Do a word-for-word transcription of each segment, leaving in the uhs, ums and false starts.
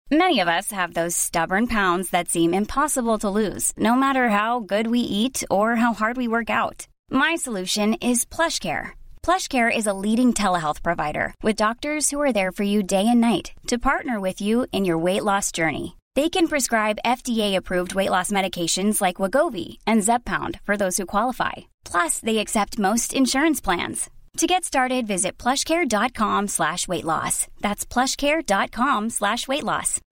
Many of us have those stubborn pounds that seem impossible to lose, no matter how good we eat or how hard we work out. My solution is PlushCare. PlushCare is a leading telehealth provider with doctors who are there for you day and night to partner with you in your weight loss journey. They can prescribe F D A-approved weight loss medications like Wegovy and Zepbound for those who qualify. Plus, they accept most insurance plans. To get started, visit plushcare.com slash weight loss. That's plushcare.com slash weight loss.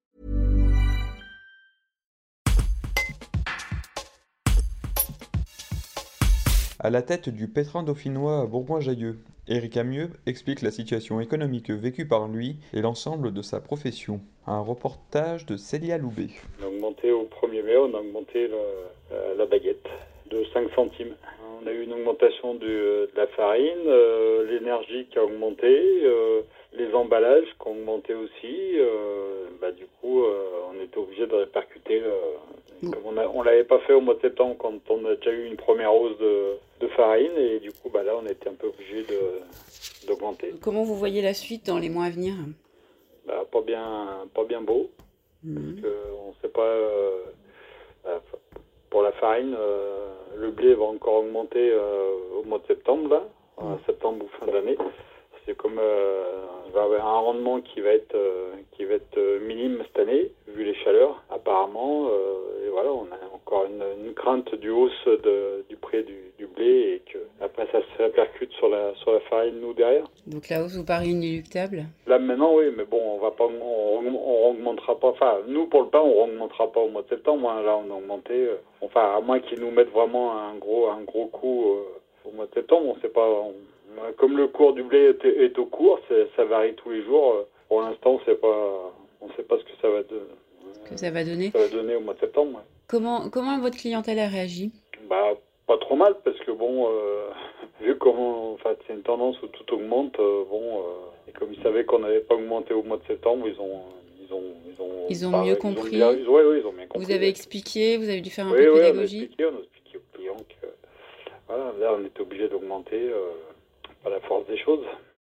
À la tête du pétrin dauphinois à Bourgoin-Jallieu, Éric Amieux explique la situation économique vécue par lui et l'ensemble de sa profession. Un reportage de Célia Loubet. On a augmenté au premier mai, on a augmenté le, la baguette de cinq centimes. On a eu une augmentation du, de la farine, euh, l'énergie qui a augmenté, euh, les emballages qui ont augmenté aussi. Euh, bah, du coup, euh, on était obligé de répercuter. Euh, comme on a, on l'avait pas fait au mois de septembre quand on a déjà eu une première hausse de, de farine et du coup, bah, là, on était un peu obligé de, d'augmenter. Comment vous voyez la suite dans les mois à venir ? Bah, pas bien, pas bien beau. Mmh. Parce que on sait pas. Euh, bah, pour la farine, euh, le blé va encore augmenter euh, au mois de septembre, là, mmh. septembre ou fin d'année. C'est comme euh, il va y avoir un rendement qui va être euh, qui va être euh, minime cette année, vu les chaleurs, apparemment. Euh, et voilà, on a encore une, une crainte du hausse de, du prix du, du blé et que après ça se répercute sur la sur la farine nous derrière. Donc la hausse vous paraît inéluctable ? Là maintenant oui, mais bon, on va pas, on, on augmentera pas. Enfin, nous pour le pain, on augmentera pas au mois de septembre. Hein, là, on a augmenté. Euh, enfin, à moins qu'ils nous mettent vraiment un gros un gros coup euh, au mois de septembre, on sait pas. On, Comme le cours du blé est, est au cours, c'est, ça varie tous les jours. Pour l'instant, on sait pas, on sait pas ce que ça va, de, que ça va donner. Ça va donner au mois de septembre. Ouais. Comment, comment votre clientèle a réagi ? Bah, pas trop mal parce que bon, euh, vu comment, enfin, c'est une tendance où tout augmente. Euh, bon, euh, et comme ils savaient qu'on n'avait pas augmenté au mois de septembre, ils ont, ils ont, ils ont, ils ont bah, mieux compris. Ils ont bien, oui, oui, ils ont bien compris. Vous avez expliqué, vous avez dû faire un oui, peu de oui, pédagogie. On a expliqué, on a expliqué aux clients que, voilà, là, on était obligé d'augmenter. Euh, à la force des choses.